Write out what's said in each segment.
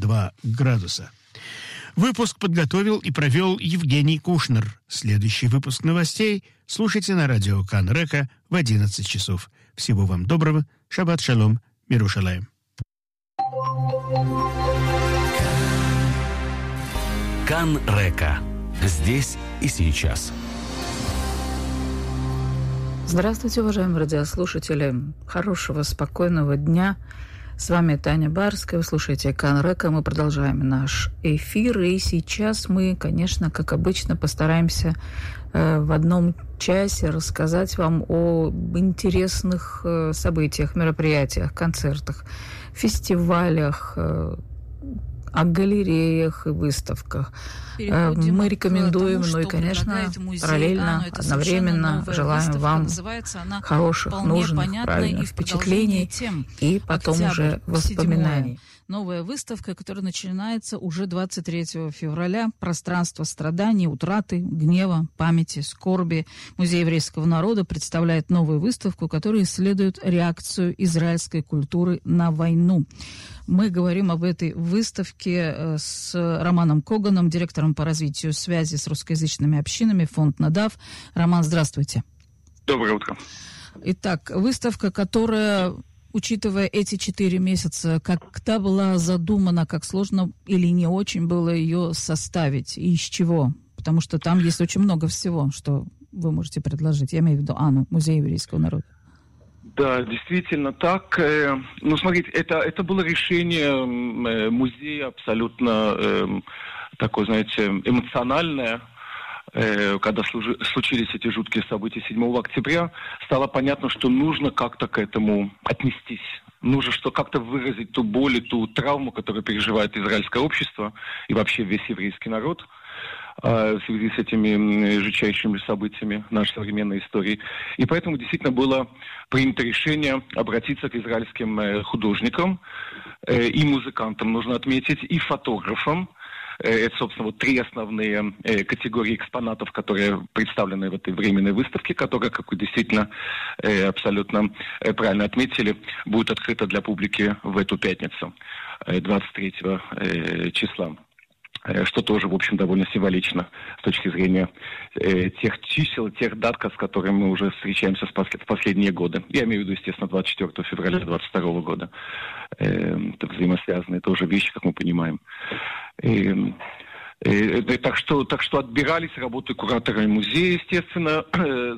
2 градуса. Выпуск подготовил и провел Евгений Кушнер. Следующий выпуск новостей слушайте на радио Кан Река в 11 часов. Всего вам доброго. Шаббат шалом. Мирушалаем. Кан Река. Здесь и сейчас. Здравствуйте, уважаемые радиослушатели. Хорошего, спокойного дня. С вами Таня Барская. Вы слушаете Кан Река. Мы продолжаем наш эфир. И сейчас мы, конечно, как обычно, постараемся в одном часе рассказать вам об интересных событиях, мероприятиях, концертах, фестивалях, о галереях и выставках. Мы рекомендуем, тому, и, конечно, параллельно, одновременно желаем вам хороших, нужных, правильных впечатлений и потом уже воспоминаний. Новая выставка, которая начинается уже 23 февраля. Пространство страданий, утраты, гнева, памяти, скорби. Музей еврейского народа представляет новую выставку, которая исследует реакцию израильской культуры на войну. Мы говорим об этой выставке с Романом Коганом, директором по развитию связи с русскоязычными общинами, фонд «Надав». Роман, здравствуйте. Доброе утро. Итак, выставка, которая, учитывая эти 4 месяца, когда была задумана, как сложно или не очень было ее составить, и из чего? Потому что там есть очень много всего, что вы можете предложить. Я имею в виду Музей еврейского народа. Да, действительно так. Смотрите, это было решение музея абсолютно такое, знаете, эмоциональное. Когда случились эти жуткие события 7 октября, стало понятно, что нужно как-то к этому отнестись. Нужно как-то выразить ту боль и ту травму, которую переживает израильское общество и вообще весь еврейский народ в связи с этими жутчайшими событиями нашей современной истории. И поэтому действительно было принято решение обратиться к израильским художникам и музыкантам, нужно отметить, и фотографам. Это, собственно, 3 основные категории экспонатов, которые представлены в этой временной выставке, которая, как вы действительно абсолютно правильно отметили, будет открыта для публики в эту пятницу, 23 числа. Что тоже, в общем, довольно символично с точки зрения тех чисел, тех дат, с которыми мы уже встречаемся в последние годы. Я имею в виду, естественно, 24 февраля 2022 года. Это взаимосвязанные тоже вещи, как мы понимаем. Так что отбирались работы кураторами музея, естественно.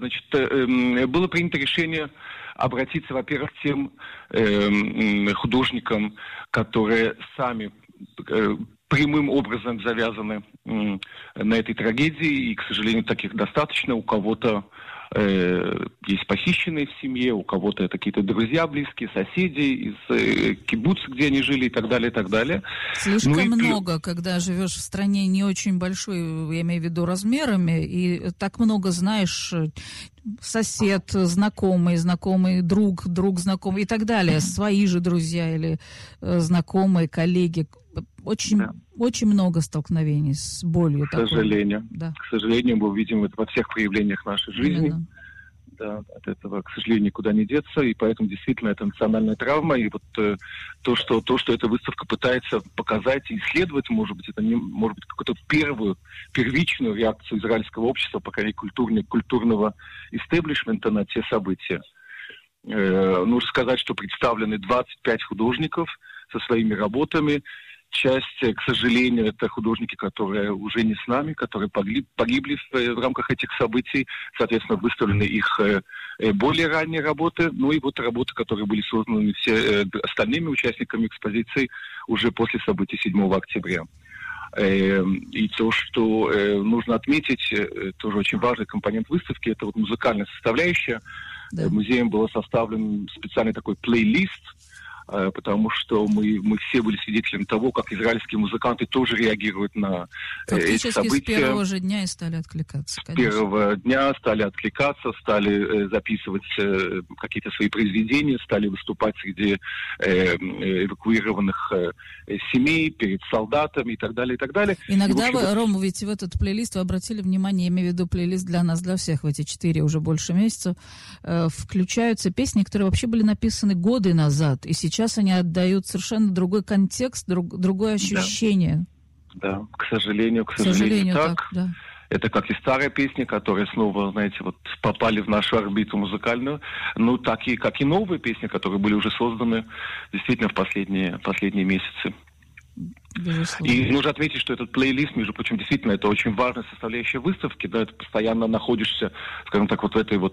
Было принято решение обратиться, во-первых, к тем художникам, которые сами прямым образом завязаны на этой трагедии, и, к сожалению, таких достаточно. У кого-то есть похищенные в семье, у кого-то это какие-то друзья близкие, соседи из кибуца, где они жили, и так далее, и так далее. Слишком много, когда живешь в стране не очень большой, я имею в виду размерами, и так много знаешь, сосед, знакомый, друг знакомый и так далее, свои же друзья или знакомые, коллеги. Очень много столкновений с болью. К сожалению. Да. К сожалению, мы видим это во всех проявлениях нашей жизни. Именно. Да, от этого, к сожалению, никуда не деться, и поэтому действительно это национальная травма, и вот то, что эта выставка пытается показать и исследовать, может быть, это не, может быть, какую-то первичную реакцию израильского общества, по крайней мере, культурного истеблишмента на те события. Нужно сказать, что представлены 25 художников со своими работами. Часть, к сожалению, это художники, которые уже не с нами, которые погибли в рамках этих событий. Соответственно, выставлены их более ранние работы. Ну и вот работы, которые были созданы все остальными участниками экспозиции уже после событий 7 октября. И то, что нужно отметить, тоже очень важный компонент выставки, это вот музыкальная составляющая. Да. Музеем был составлен специальный такой плейлист, потому что мы все были свидетелями того, как израильские музыканты тоже реагируют на эти события. Фактически с первого же дня и стали откликаться. Конечно. С первого дня стали откликаться, стали записывать какие-то свои произведения, стали выступать среди эвакуированных семей, перед солдатами и так далее, и так далее. Иногда вы, Рома, ведь в этот плейлист вы обратили внимание, я имею в виду плейлист для нас, для всех в эти 4 уже больше месяцев, включаются песни, которые вообще были написаны годы назад, и сейчас сейчас они отдают совершенно другой контекст, другое ощущение. Да, к сожалению, так. Да. Это как и старые песни, которые снова, знаете, вот попали в нашу орбиту музыкальную, ну, так и как и новые песни, которые были уже созданы действительно в последние месяцы. Безусловно. И нужно отметить, что этот плейлист, между прочим, действительно, это очень важная составляющая выставки, да, ты постоянно находишься, скажем так, вот в этой вот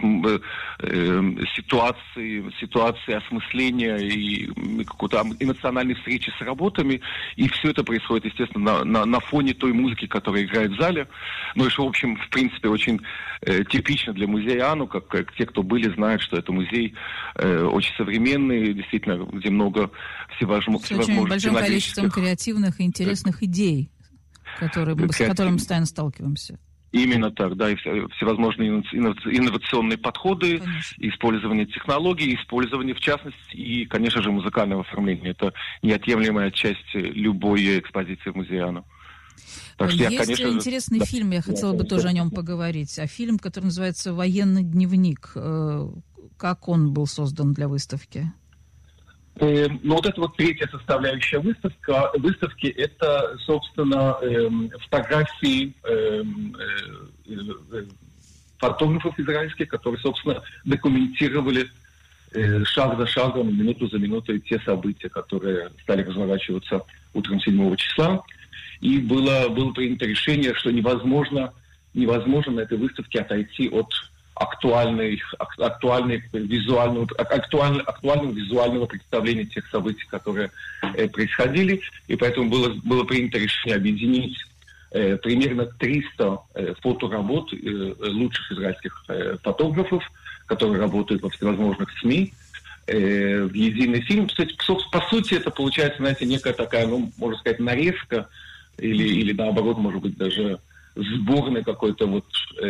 ситуации осмысления и какой-то эмоциональной встречи с работами, и все это происходит, естественно, на фоне той музыки, которая играет в зале, ну и что, в общем, в принципе, очень типично для музея Ану, как те, кто были, знают, что это музей очень современный, действительно, где много всевозможных очень большим количеством креативных и интересных идей, с которыми мы постоянно сталкиваемся. Именно так, да, и всевозможные инновационные подходы, конечно. Использование технологий, использование, в частности, и, конечно же, музыкального оформления. Это неотъемлемая часть любой экспозиции в музее Ану. Есть интересный фильм, я хотела бы тоже о нем поговорить. Фильм, который называется «Военный дневник». Как он был создан для выставки? Ну, вот эта вот третья составляющая выставки, это, собственно, фотографии фотографов израильских, которые, собственно, документировали шаг за шагом, минуту за минутой те события, которые стали разворачиваться утром 7 числа. И было принято решение, что невозможно на этой выставке отойти от актуального визуального представления тех событий, которые происходили. И поэтому было принято решение объединить примерно 300 фоторабот лучших израильских фотографов, которые работают во всевозможных СМИ, в единый фильм. Кстати, по сути, это получается, знаете, некая такая, ну, можно сказать, нарезка или наоборот, может быть, даже сборный какой-то вот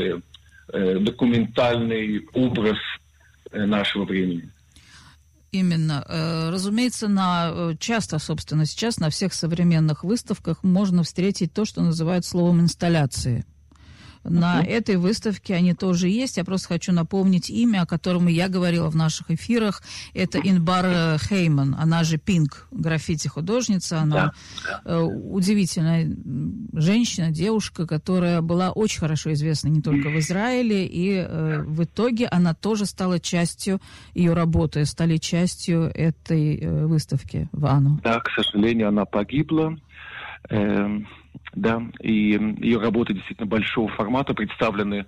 документальный образ нашего времени. Именно. Разумеется, часто, собственно, сейчас на всех современных выставках можно встретить то, что называют словом «инсталляции». На этой выставке они тоже есть. Я просто хочу напомнить имя, о котором я говорила в наших эфирах. Это Инбар Хейман, она же Пинк, граффити-художница. Она удивительная женщина, девушка, которая была очень хорошо известна не только в Израиле, и в итоге она тоже стала частью, ее работы стали частью этой выставки в Ану. Да, к сожалению, она погибла. Да, и ее работы действительно большого формата представлены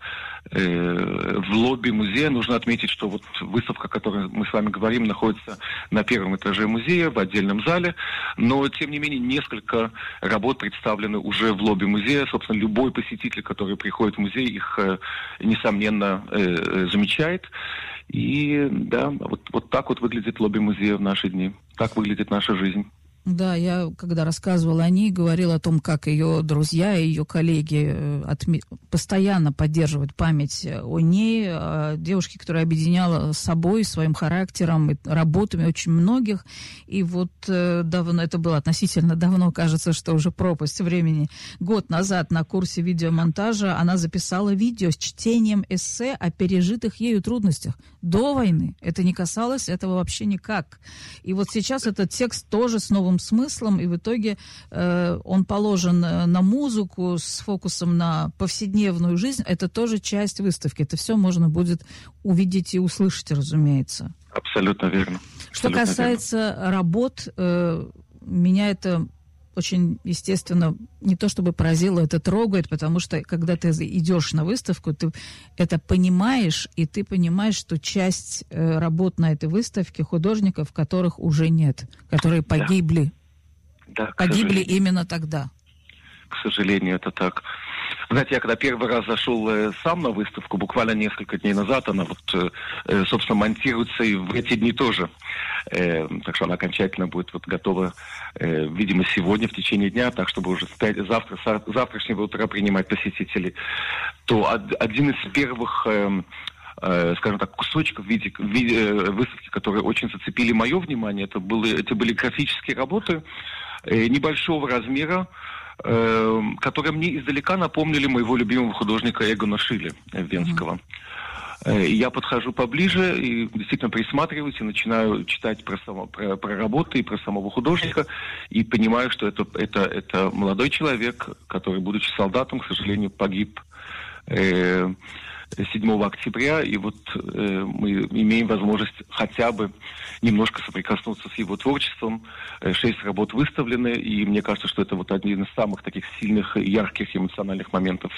в лобби музея. Нужно отметить, что вот выставка, о которой мы с вами говорим, находится на первом этаже музея, в отдельном зале, но, тем не менее, несколько работ представлены уже в лобби музея. Собственно, любой посетитель, который приходит в музей, их, несомненно, замечает. И, да, вот так вот выглядит лобби музея в наши дни. Так выглядит наша жизнь. Да, я, когда рассказывала о ней, говорила о том, как ее друзья и ее коллеги постоянно поддерживают память о ней, о девушке, которая объединяла с собой, своим характером и работами очень многих. И вот давно, это было относительно давно, кажется, что уже пропасть времени. Год назад на курсе видеомонтажа она записала видео с чтением эссе о пережитых ею трудностях до войны. Это не касалось этого вообще никак. И вот сейчас этот текст тоже с новым смыслом, и в итоге он положен на музыку с фокусом на повседневную жизнь. Это тоже часть выставки. Это все можно будет увидеть и услышать, разумеется. Абсолютно верно. Что касается работ, меня это очень, естественно, не то чтобы поразило, это трогает, потому что, когда ты идешь на выставку, ты это понимаешь, и ты понимаешь, что часть работ на этой выставке художников, которых уже нет, которые погибли. Да, погибли именно тогда. К сожалению, это так. Знаете, я когда первый раз зашел сам на выставку, буквально несколько дней назад, она вот, собственно, монтируется и в эти дни тоже. Так что она окончательно будет вот готова, видимо, сегодня, в течение дня, так, чтобы уже завтрашнего утра принимать посетителей. То один из первых, скажем так, кусочков в виде выставки, которые очень зацепили мое внимание, это были графические работы небольшого размера, которые мне издалека напомнили моего любимого художника Эгона Шиле Венского. Я подхожу поближе и действительно присматриваюсь и начинаю читать про работы и про самого художника, и понимаю, что это молодой человек, который, будучи солдатом, к сожалению, погиб 7 октября, и вот мы имеем возможность хотя бы немножко соприкоснуться с его творчеством. 6 работ выставлены, и мне кажется, что это вот один из самых таких сильных, ярких, эмоциональных моментов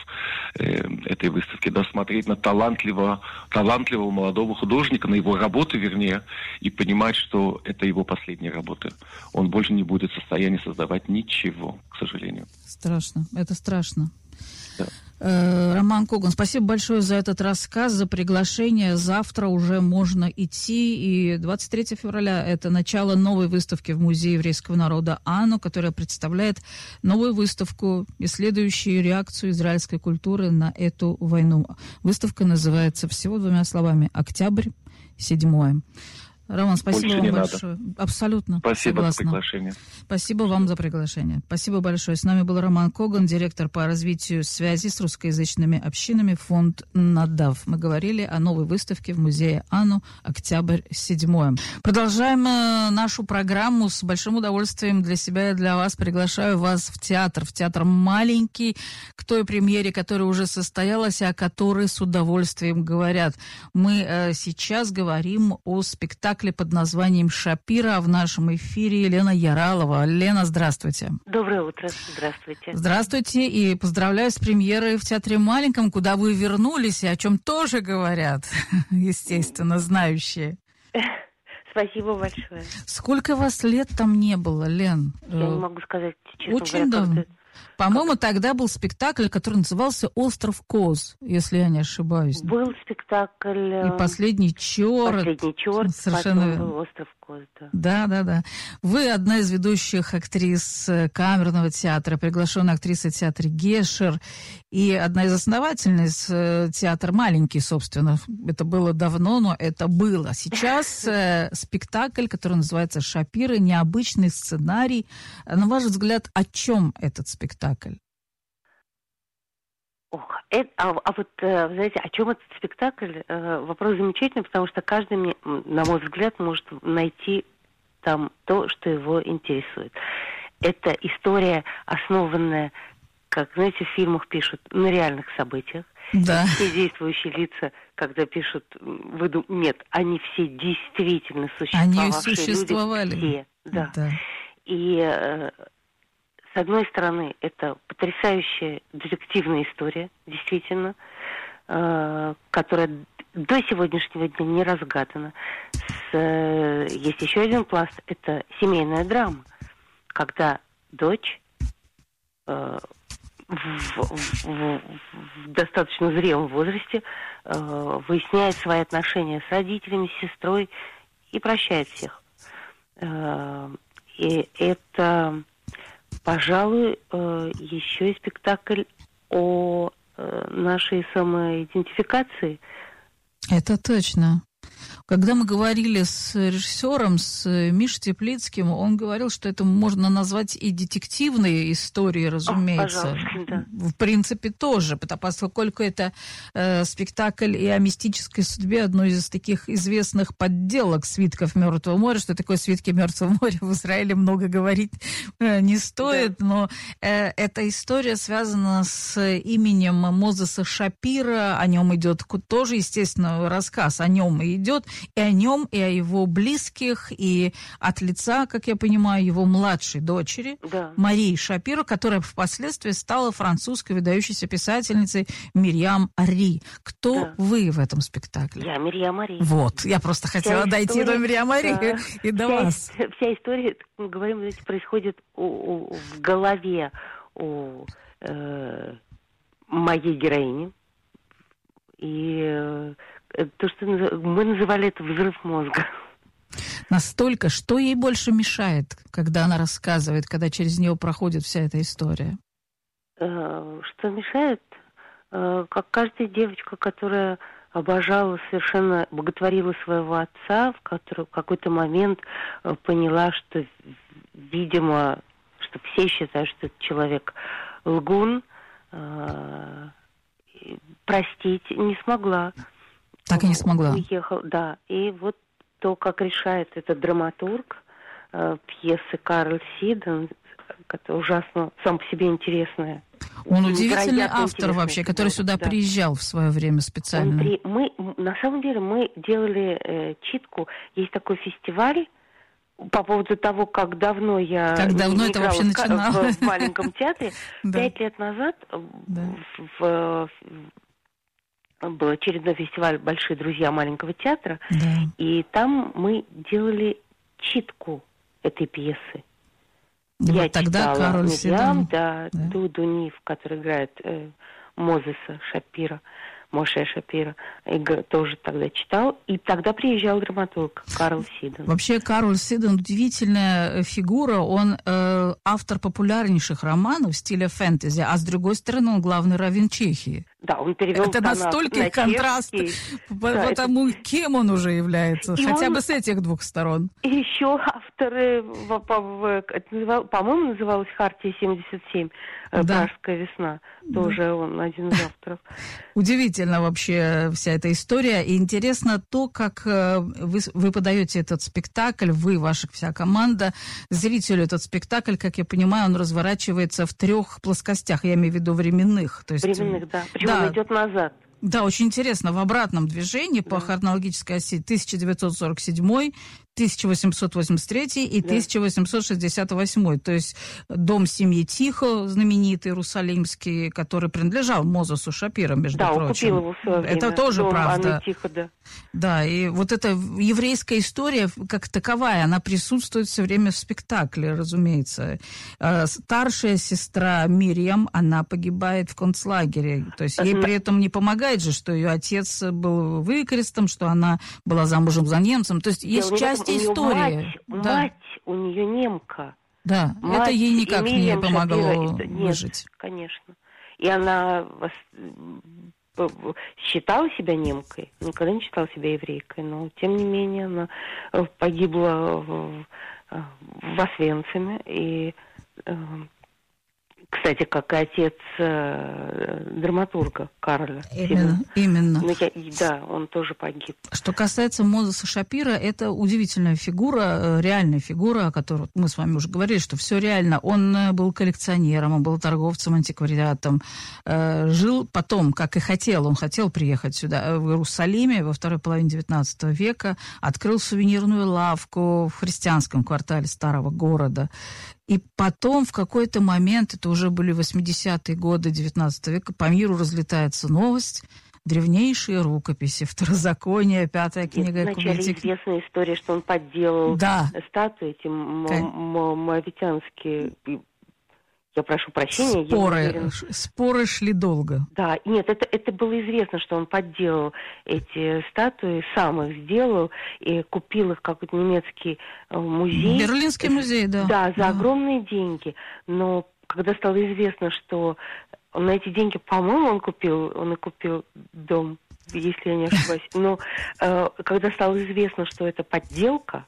этой выставки. Да, смотреть на талантливого молодого художника, на его работы, вернее, и понимать, что это его последние работы. Он больше не будет в состоянии создавать ничего, к сожалению. Страшно, это страшно. Да. Роман Коган, спасибо большое за этот рассказ, за приглашение. Завтра уже можно идти. И 23 февраля это начало новой выставки в Музее еврейского народа АНУ, которая представляет новую выставку, исследующую реакцию израильской культуры на эту войну. Выставка называется всего 2 словами «Октябрь 7». Роман, спасибо вам большое. Надо. Абсолютно. Спасибо согласна. за приглашение. Спасибо вам за приглашение. Спасибо большое. С нами был Роман Коган, директор по развитию связи с русскоязычными общинами, фонд «Надав». Мы говорили о новой выставке в музее АНУ «Октябрь 7». Продолжаем нашу программу. С большим удовольствием для себя и для вас приглашаю вас в театр. В театр маленький, к той премьере, которая уже состоялась, о которой с удовольствием говорят. Мы сейчас говорим о спектакле под названием «Шапира», а в нашем эфире Елена Яралова. Лена, здравствуйте. Доброе утро. Здравствуйте. Здравствуйте и поздравляю с премьерой в Театре Маленьком, куда вы вернулись и о чем тоже говорят, естественно, знающие. Спасибо большое. Сколько вас лет там не было, Лен? Я не могу сказать, честно Очень говоря, давно. По-моему, тогда был спектакль, который назывался «Остров Коз», если я не ошибаюсь. Был спектакль... И «Последний черт». «Последний черт», Совершенно потом верно. был «Остров Коз», да. Да. Вы одна из ведущих актрис камерного театра, приглашенная актриса театра Гешер, и одна из основательниц театра «Маленький», собственно. Это было давно, но это было. Сейчас спектакль, который называется «Шапира», необычный сценарий. На ваш взгляд, о чем этот спектакль? Вот, знаете, о чем этот спектакль? Вопрос замечательный, потому что каждый, на мой взгляд, может найти там то, что его интересует. Это история, основанная, как, знаете, в фильмах пишут, на реальных событиях. Да. Все действующие лица, когда пишут, нет, они все действительно существовавшие. Они существовали. Люди, все, да. Да. И с одной стороны, это потрясающая детективная история, действительно, которая до сегодняшнего дня не разгадана. Есть еще один пласт, это семейная драма, когда дочь в достаточно зрелом возрасте выясняет свои отношения с родителями, с сестрой и прощает всех. И это... Пожалуй, еще и спектакль о нашей самоидентификации. Это точно. Когда мы говорили с режиссером, с Мишей Теплицким, он говорил, что это можно назвать и детективные истории, разумеется. Да. В принципе, тоже, поскольку это спектакль и о мистической судьбе одной из таких известных подделок «Свитков Мертвого моря». Что такое «Свитки Мертвого моря» в Израиле много говорить не стоит, да. Но эта история связана с именем Мозеса Шапира, о нем идет тоже, естественно, рассказ о нем и идет, и о нем, и о его близких, и от лица, как я понимаю, его младшей дочери, да. Марии Шапиро, которая впоследствии стала французской выдающейся писательницей Мирьям Ари. Кто вы в этом спектакле? Я Мирьям Ари. Вот, я просто хотела дойти до Мирьям Ари и до вас. Вся история, мы говорим, знаете, происходит в голове у моей героини. И то, что мы называли это взрыв мозга. Настолько, что ей больше мешает, когда она рассказывает, когда через нее проходит вся эта история? Что мешает? Как каждая девочка, которая обожала, совершенно боготворила своего отца, в какой-то момент поняла, что, видимо, что все считают, что этот человек лгун, простить не смогла. Так и не смогла. Уехал, да. И вот то, как решает этот драматург пьесы Карл Сиден, которая ужасно сам по себе интересная. Он удивительный автор вообще, который сюда приезжал в свое время специально. На самом деле мы делали читку. Есть такой фестиваль по поводу того, как давно я это вообще начиналось в маленьком театре. 5 лет назад был очередной фестиваль «Большие друзья маленького театра», и там мы делали читку этой пьесы. Я вот тогда читала Кароль Сиден, Дуду Нив, который играет Мозеса Шапира, Моше Шапира, тоже тогда читал. И тогда приезжал драматург Карл Сиден. Вообще Карл Сиден удивительная фигура. Он автор популярнейших романов в стиле фэнтези, а с другой стороны он главный раввин Чехии. Да, он перевел это настолько контраст, потому кем он уже является, хотя бы с этих двух сторон. И еще авторы, по-моему, называлась «Хартия 77», «Пражская весна», тоже он один из авторов. Удивительно вообще вся эта история, и интересно то, как вы подаете этот спектакль, вы, ваша вся команда, зрителю этот спектакль, как я понимаю, он разворачивается в 3 плоскостях, я имею в виду временных. То есть, временных, да. Он идет назад. Да, очень интересно, в обратном движении по хронологической оси 1947, 1883 и 1868. То есть дом семьи Тихо, знаменитый иерусалимский, который принадлежал Мозесу Шапира, между прочим. Да, купил его в свое время. Это тоже дом правда. Анны Тихо, да. Да, и вот эта еврейская история как таковая, она присутствует все время в спектакле, разумеется. Старшая сестра Мирьям, она погибает в концлагере. То есть ей при этом не помогает же, что ее отец был выкрестом, что она была замужем за немцем. То есть есть часть истории. Мать у нее немка. Да, мать, это ей никак не помогло выжить. Конечно. И она считала себя немкой, никогда не считала себя еврейкой, но тем не менее она погибла в Освенциме. И, кстати, как и отец драматурга Карля. Именно. Да, он тоже погиб. Что касается Мозеса Шапира, это удивительная фигура, реальная фигура, о которой мы с вами уже говорили, что все реально. Он был коллекционером, он был торговцем, антиквариатом. Жил потом, как и хотел, он хотел приехать сюда, в Иерусалиме, во второй половине XIX века, открыл сувенирную лавку в христианском квартале старого города. И потом в какой-то момент, это уже были 80-е годы XIX века, по миру разлетается новость, древнейшие рукописи, Второзаконие, 5-я книга Кубитик. Вначале известная история, что он подделал статуи эти моавитянские. Я прошу прощения. Споры шли долго. Да, нет, это было известно, что он подделал эти статуи, сам их сделал и купил их в какой-то немецкий музей. Берлинский музей, да. Да, за огромные деньги. Но когда стало известно, что на эти деньги, по-моему, он и купил дом, если я не ошибаюсь. Но когда стало известно, что это подделка,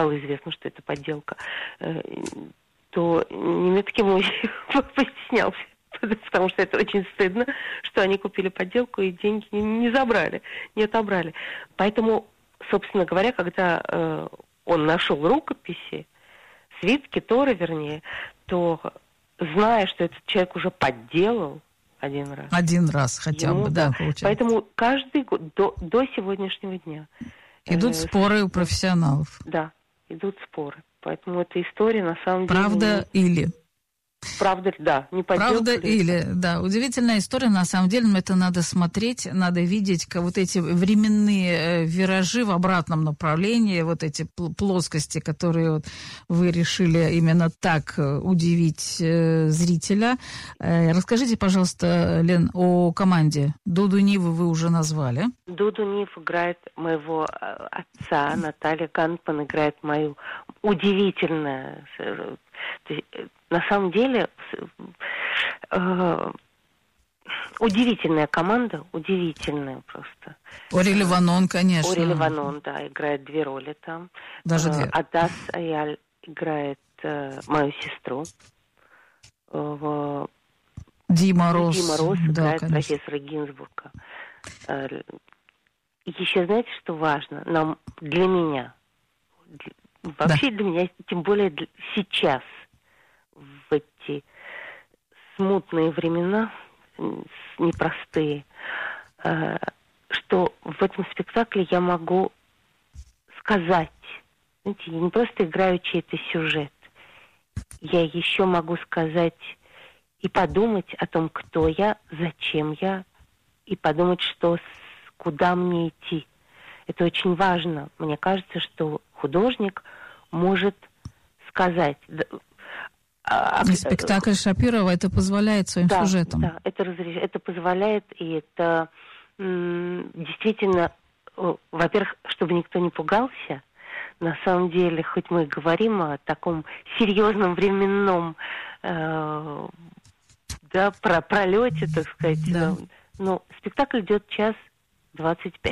то немецкий музей постеснялся, потому что это очень стыдно, что они купили подделку и деньги не отобрали. Поэтому, собственно говоря, когда он нашел рукописи, свитки Торы, вернее, то, зная, что этот человек уже подделал один раз хотя бы, да, получается. Поэтому каждый год, до сегодняшнего дня... Идут споры у профессионалов. Да, идут споры. Поэтому эта история на самом деле... Правда или? Правда, да, не подделка. Правда или, да. Удивительная история, на самом деле, но это надо смотреть, надо видеть вот эти временные виражи в обратном направлении, вот эти плоскости, которые вот вы решили именно так удивить зрителя. Расскажите, пожалуйста, Лен, о команде. Дуду Ниву вы уже назвали. Дуду Нив играет моего отца, Наталья Ганпан играет мою удивительную... На самом деле, удивительная команда, удивительная просто. Ори Ливанон, конечно. Ори Ливанон, да, играет 2 роли там. Даже 2. Адас Аяль играет мою сестру. Дима Рос играет профессора Гинзбурга. еще знаете, что важно? Нам, для меня, вообще для меня, тем более сейчас, в эти смутные времена, непростые, что в этом спектакле я могу сказать, знаете, я не просто играю чей-то сюжет, я еще могу сказать и подумать о том, кто я, зачем я, и подумать, куда мне идти. Это очень важно. Мне кажется, что художник может сказать... И спектакль Шапирова это позволяет своим сюжетам. Да, это позволяет, и это действительно, во-первых, чтобы никто не пугался. На самом деле, хоть мы и говорим о таком серьезном временном пролете, так сказать, но спектакль идет 1:25.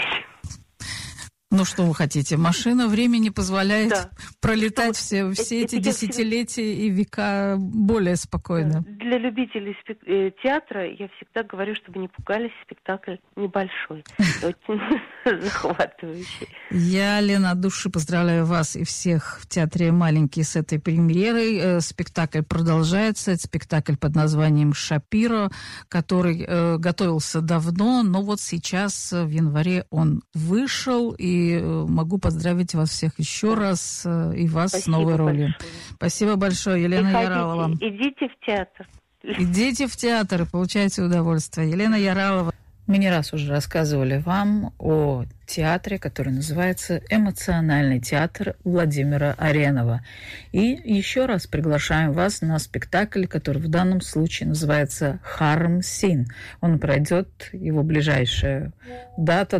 Ну, что вы хотите? Машина времени позволяет пролетать все эти десятилетия и века более спокойно. Для любителей театра я всегда говорю, чтобы не пугались, спектакль небольшой, очень захватывающий. Я, Лена, от души поздравляю вас и всех в театре «Маленький» с этой премьерой. Спектакль продолжается. Это спектакль под названием «Шапиро», который готовился давно, но вот сейчас в январе он вышел, и могу поздравить вас всех еще раз и вас с новой ролью. Спасибо большое, Елена Яралова. Идите в театр. Идите в театр и получайте удовольствие. Елена Яралова. Мы не раз уже рассказывали вам о театре, который называется «Эмоциональный театр» Владимира Аренова. И еще раз приглашаем вас на спектакль, который в данном случае называется «Харм Син». Он пройдет, его ближайшая дата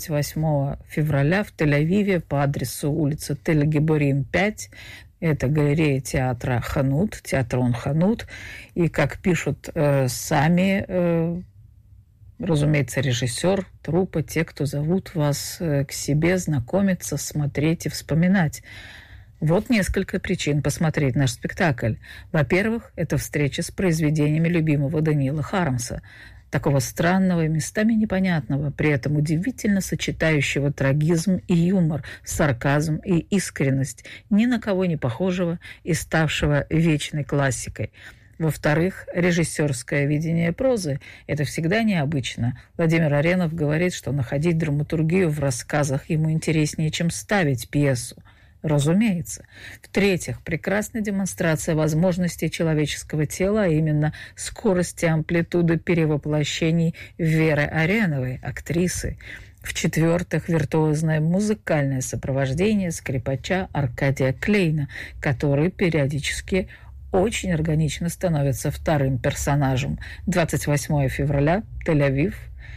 28 февраля в Тель-Авиве по адресу улица Тель-Гиборим, 5. Это галерея театра «Ханут», театрон «Ханут». И, как пишут сами... разумеется, режиссер, труппа, те, кто зовут вас к себе, знакомиться, смотреть и вспоминать. Вот несколько причин посмотреть наш спектакль. Во-первых, это встреча с произведениями любимого Даниила Хармса, такого странного и местами непонятного, при этом удивительно сочетающего трагизм и юмор, сарказм и искренность, ни на кого не похожего и ставшего вечной классикой. Во-вторых, режиссерское видение прозы – это всегда необычно. Владимир Аренов говорит, что находить драматургию в рассказах ему интереснее, чем ставить пьесу. Разумеется. В-третьих, прекрасная демонстрация возможностей человеческого тела, а именно скорости, амплитуды перевоплощений Веры Ареновой, актрисы. В-четвертых, виртуозное музыкальное сопровождение скрипача Аркадия Клейна, который периодически очень органично становится вторым персонажем. 28 февраля, Тель-Авив,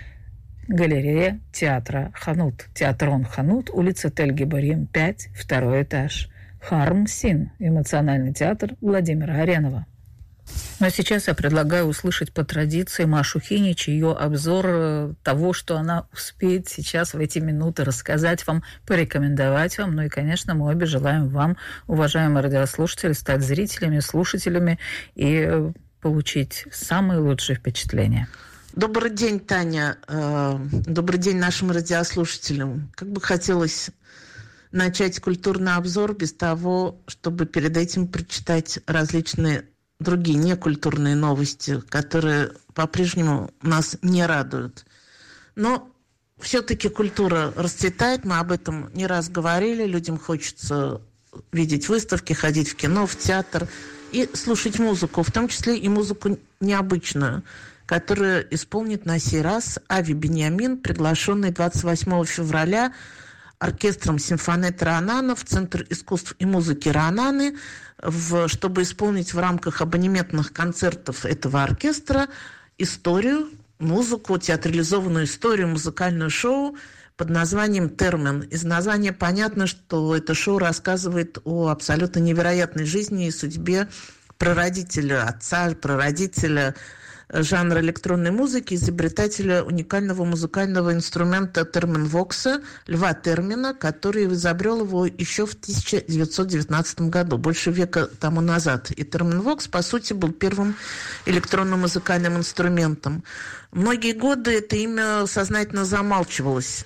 галерея театра «Ханут». Театрон «Ханут», улица Тель-Гиборим, 5, 2 этаж. Харм Син, эмоциональный театр Владимира Аренова. Ну а сейчас я предлагаю услышать по традиции Машу Хинич, ее обзор того, что она успеет сейчас в эти минуты рассказать вам, порекомендовать вам. Ну и, конечно, мы обе желаем вам, уважаемые радиослушатели, стать зрителями, слушателями и получить самые лучшие впечатления. Добрый день, Таня. Добрый день нашим радиослушателям. Как бы хотелось начать культурный обзор без того, чтобы перед этим прочитать различные другие некультурные новости, которые по-прежнему нас не радуют. Но все-таки культура расцветает, мы об этом не раз говорили, людям хочется видеть выставки, ходить в кино, в театр и слушать музыку, в том числе и музыку необычную, которую исполнит на сей раз Ави Беньямин, приглашенный 28 февраля оркестром симфонетты Раанана в Центр искусств и музыки Раананы, чтобы исполнить в рамках абонементных концертов этого оркестра историю, музыку, театрализованную историю, музыкальное шоу под названием «Термен». Из названия понятно, что это шоу рассказывает о абсолютно невероятной жизни и судьбе прародителя, отца, прародителя жанра электронной музыки, изобретателя уникального музыкального инструмента терменвокса, Льва Термина, который изобрел его еще в 1919 году, больше века тому назад. И терменвокс, по сути, был первым электронным музыкальным инструментом. Многие годы это имя сознательно замалчивалось.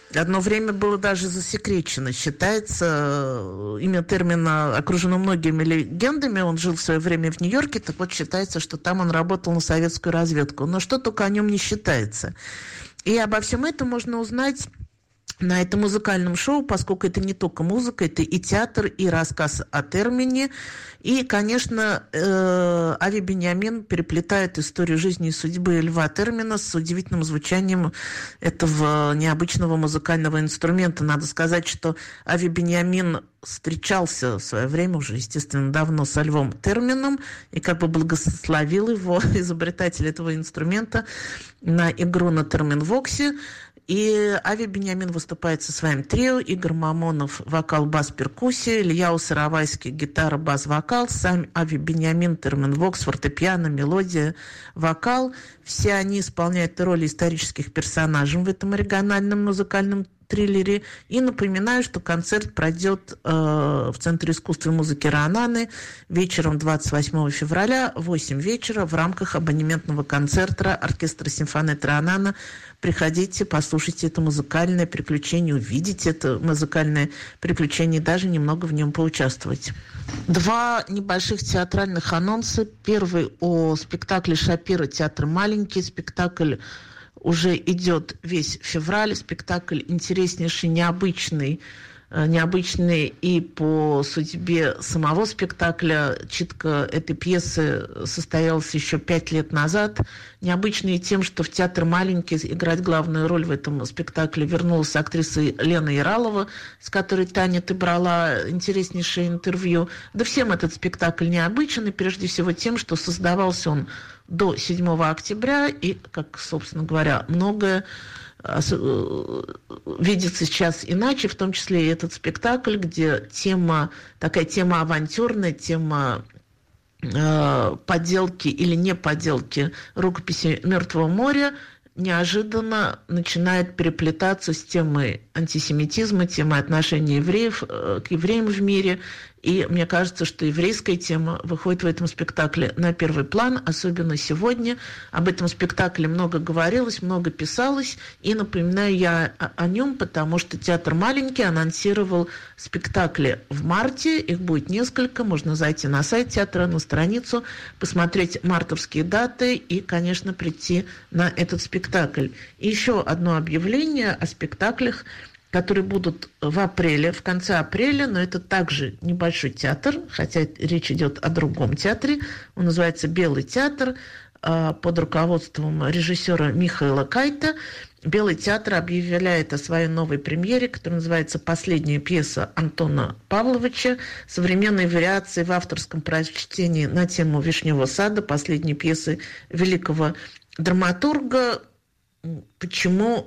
Одно время было даже засекречено. Считается, имя термина окружено многими легендами. Он жил в свое время в Нью-Йорке, так вот считается, что там он работал на советскую разведку. Но что только о нем не считается. И обо всем этом можно узнать на этом музыкальном шоу, поскольку это не только музыка, это и театр, и рассказ о термине. И, конечно, Ави Беньямин переплетает историю жизни и судьбы Льва Термина с удивительным звучанием этого необычного музыкального инструмента. Надо сказать, что Ави Беньямин встречался в свое время, уже, естественно, давно со Львом Термином, и как бы благословил его, изобретатель этого инструмента, на игру на терминвоксе. И Ави Беньямин выступает со своим трио. Игорь Мамонов – вокал, бас, перкуссия. Илья Сыровайский – гитара, бас, вокал. Сам Ави Беньямин – терминвокс, фортепиано, мелодия, вокал. Все они исполняют роли исторических персонажей в этом оригинальном музыкальном триллере. И напоминаю, что концерт пройдет в Центре искусства и музыки Раананы вечером 28 февраля в 8 вечера в рамках абонементного концерта оркестра симфонии Раанана. Приходите, послушайте это музыкальное приключение, увидите это музыкальное приключение и даже немного в нем поучаствовать. 2 небольших театральных анонса. Первый о спектакле Шапира «Театр маленький». Спектакль уже идет весь февраль. Спектакль интереснейший, необычный и по судьбе самого спектакля. Читка этой пьесы состоялась еще 5 лет назад. Необычный тем, что в «Театр маленький» играть главную роль в этом спектакле вернулась актриса Лена Яралова, с которой, Таня, ты брала интереснейшее интервью. Да всем этот спектакль необычен, и прежде всего тем, что создавался он до 7 октября, и, как, собственно говоря, многое видится сейчас иначе, в том числе и этот спектакль, где такая тема авантюрная, тема подделки или не подделки рукописи «Мертвого моря» неожиданно начинает переплетаться с темой антисемитизма, темой отношения евреев к евреям в мире. И мне кажется, что еврейская тема выходит в этом спектакле на первый план, особенно сегодня. Об этом спектакле много говорилось, много писалось. И напоминаю я о нем, потому что «Театр маленький» анонсировал спектакли в марте. Их будет несколько. Можно зайти на сайт театра, на страницу, посмотреть мартовские даты и, конечно, прийти на этот спектакль. И еще одно объявление о спектаклях, которые будут в апреле, в конце апреля, но это также небольшой театр, хотя речь идет о другом театре. Он называется «Белый театр» под руководством режиссера Михаила Кайта. «Белый театр» объявляет о своей новой премьере, которая называется «Последняя пьеса Антона Павловича. Современные вариации в авторском прочтении на тему «Вишневого сада», последней пьесы великого драматурга». Почему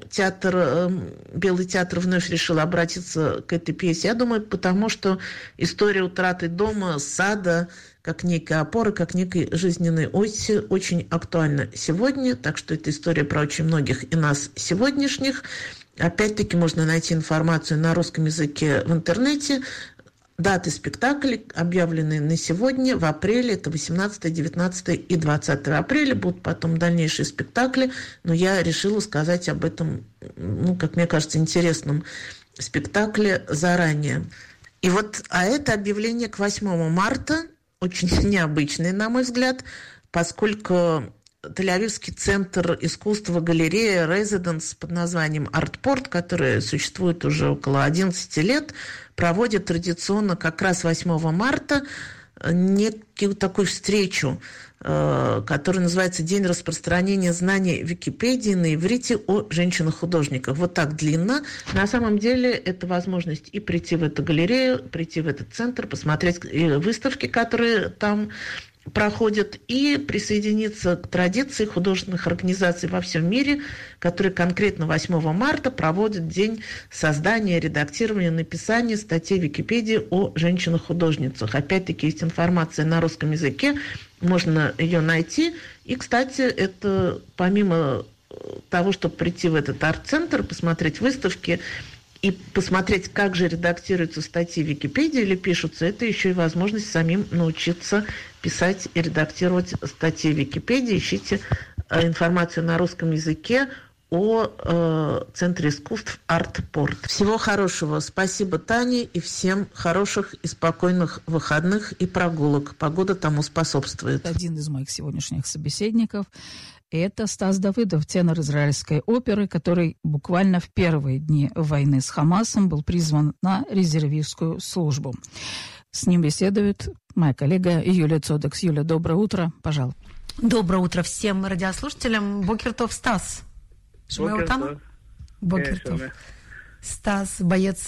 Белый театр вновь решил обратиться к этой пьесе? Я думаю, потому что история утраты дома, сада, как некой опоры, как некой жизненной оси, очень актуальна сегодня. Так что это история про очень многих и нас сегодняшних. Опять-таки можно найти информацию на русском языке в интернете. Даты спектаклей объявлены на сегодня, в апреле, это 18, 19 и 20 апреля. Будут потом дальнейшие спектакли, но я решила сказать об этом, как мне кажется, интересном спектакле заранее. И это объявление к 8 марта, очень необычное, на мой взгляд, поскольку Тель-Авивский центр искусства, галерея «Резиденс» под названием «Артпорт», который существует уже около 11 лет, проводит традиционно как раз 8 марта некую такую встречу, которая называется «День распространения знаний Википедии на иврите о женщинах-художниках». Вот так длинно. На самом деле это возможность и прийти в эту галерею, прийти в этот центр, посмотреть выставки, которые там проходят, и присоединиться к традиции художественных организаций во всем мире, которые конкретно 8 марта проводят день создания, редактирования, написания статей в Википедии о женщинах-художницах. Опять-таки есть информация на русском языке, можно ее найти. И, кстати, это помимо того, чтобы прийти в этот арт-центр, посмотреть выставки и посмотреть, как же редактируются статьи в Википедии или пишутся, это еще и возможность самим научиться писать и редактировать статьи в Википедии. Ищите информацию на русском языке о Центре искусств «Арт-Порт». Всего хорошего. Спасибо, Тане, и всем хороших и спокойных выходных и прогулок. Погода тому способствует. Один из моих сегодняшних собеседников – это Стас Давыдов, тенор израильской оперы, который буквально в первые дни войны с Хамасом был призван на резервистскую службу. С ним беседует моя коллега Юлия Цодекс. Юля, доброе утро. Пожалуйста. Доброе утро всем радиослушателям. Бокертов, Стас. Бокертов. Стас, боец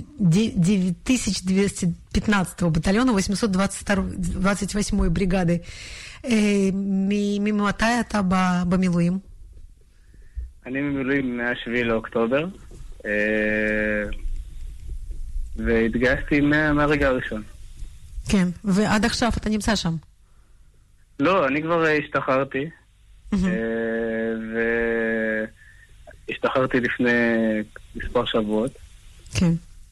9215-го батальона 828-й бригады. ממתי אתה במילואים? אני במילואים מה-7 לאוקטובר, והתגייסתי מהרגע הראשון. כן, ועד עכשיו אתה נמצא שם? לא, אני כבר השתחררתי, והשתחררתי לפני מספר שבועות. כן.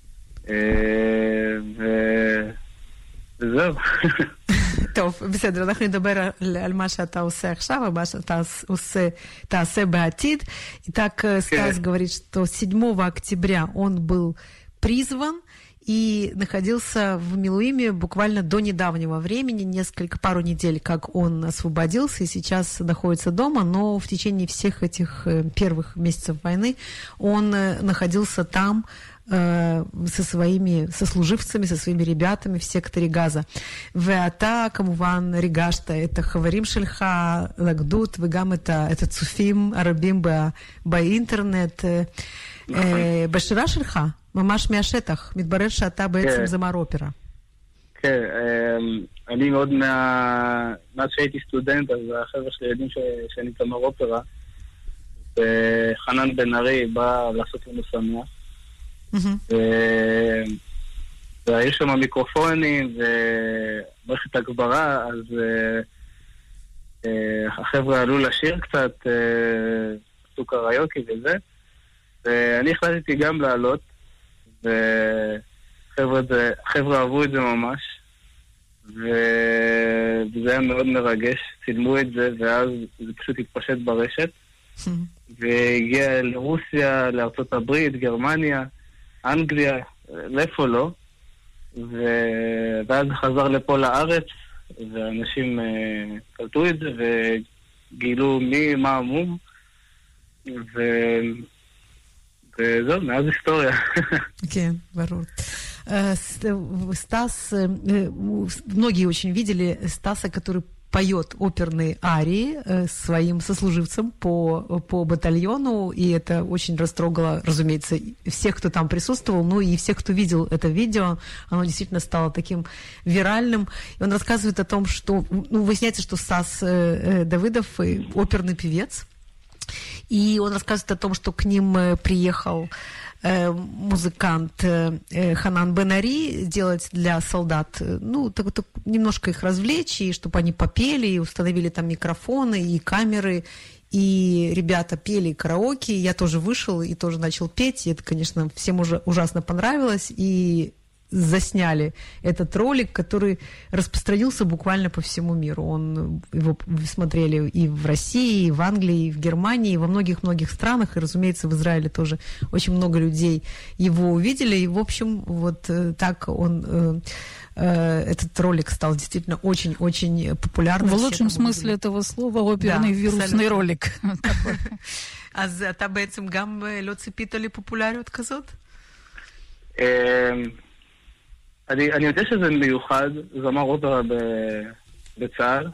וזהו. טוב, בסדר, אנחנו נדבר על מה שאתה עושה עכשיו, ומה שאתה תעשה בעתид. Итак, Стас говорит, что 7 октября он был призван и находился в Милуиме буквально до недавнего времени, пару недель, как он освободился и сейчас находится дома, но в течение всех этих первых месяцев войны он находился там со своими сослуживцами, со своими ребятами в секторе Газа. ואתה כמובן ריגשת את החברים שלך לגדוד וגם את הצופים הרבים באינטרנט. בשירה שלך, ממש מהשטח, מתברר שאתה בעצם זמר אופרה. כן, אני מאוד מאז שהייתי סטודנט, אז החבר'ה שלי יודעים שאני זמר אופרה, וחנן בן ארי בא לעשות לנו שמח. והיו שם מיקרופונים ומערכת הגברה, אז החבר'ה עלו לשיר קצת, עשו קריוקי וזה, ואני החלטתי גם לעלות, וחבר'ה אהבו את זה ממש, וזה היה מאוד מרגש, צילמו את זה, ואז זה פשוט התפשט ברשת, והגיע לרוסיה, לארצות הברית, גרמניה, אנגליה, לאיפה לא, ואז חזר לפה לארץ, ואנשים קלטו את זה וגילו מה המום, וזהו, מאז היסטוריה. כן, ברור. Стас, многие очень видели Стаса, который поет оперные арии своим сослуживцам по батальону, и это очень растрогало, разумеется, всех, кто там присутствовал, ну и всех, кто видел это видео. Оно действительно стало таким виральным. И он рассказывает о том, что, выясняется, что Стас Давыдов оперный певец, и он рассказывает о том, что к ним приехал музыкант Ханан бен Ари делать для солдат, так немножко их развлечь, и чтобы они попели, и установили там микрофоны и камеры, и ребята пели караоке, я тоже вышел и тоже начал петь, и это, конечно, всем уже ужасно понравилось, и засняли этот ролик, который распространился буквально по всему миру. Его смотрели и в России, и в Англии, и в Германии, и во многих-многих странах, и, разумеется, в Израиле тоже очень много людей его увидели, и, в общем, вот так этот ролик стал действительно очень-очень популярным. В лучшем смысле этого слова оперный вирусный ролик. אז אתה בעצם גם לא ציפית לפופולריות כזאת? אני יודע שזה מיוחד, זמר אופרה בצה"ל.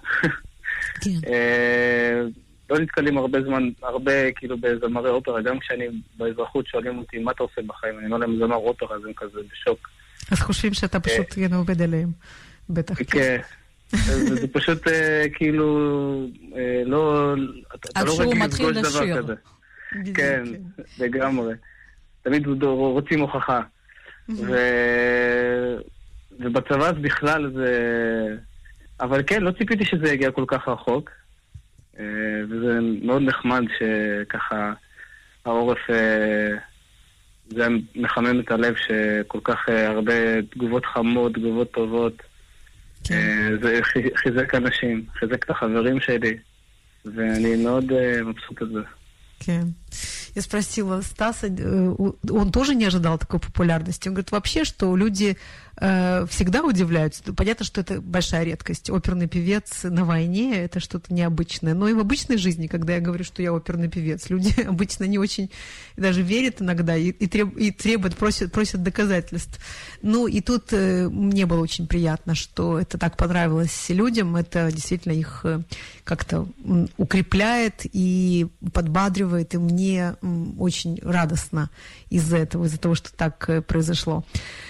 לא נתקלים הרבה כאילו בזמרי אופרה, גם כשאני באזרחות שואלים אותי מה אתה עושה בחיים, אני אומר להם זמר אופרה, אז הם כזה בשוק. אז חושבים שאתה פשוט עובד עליהם, בטח. כן, זה פשוט כאילו, לא, אתה לא רגיל לפגוש דבר כזה. כן, לגמרי. תמיד רוצים הוכחה. ובצבא אז בכלל זה... אבל כן, לא ציפיתי שזה יגיע כל כך רחוק, וזה מאוד נחמד שככה העורף, זה מחמם את הלב שכל כך הרבה תגובות חמות, תגובות טובות, זה חיזק אנשים, חיזק את החברים שלי, ואני מאוד מבסוט על זה. כן. Я спросила Стаса, он тоже не ожидал такой популярности. Он говорит, вообще, что люди всегда удивляются. Понятно, что это большая редкость. Оперный певец на войне – это что-то необычное. Но и в обычной жизни, когда я говорю, что я оперный певец, люди обычно не очень даже верят иногда и требуют, просят доказательств. Ну, и тут мне было очень приятно, что это так понравилось людям. Это действительно их как-то укрепляет и подбадривает. И мне очень радостно из-за того, что так произошло.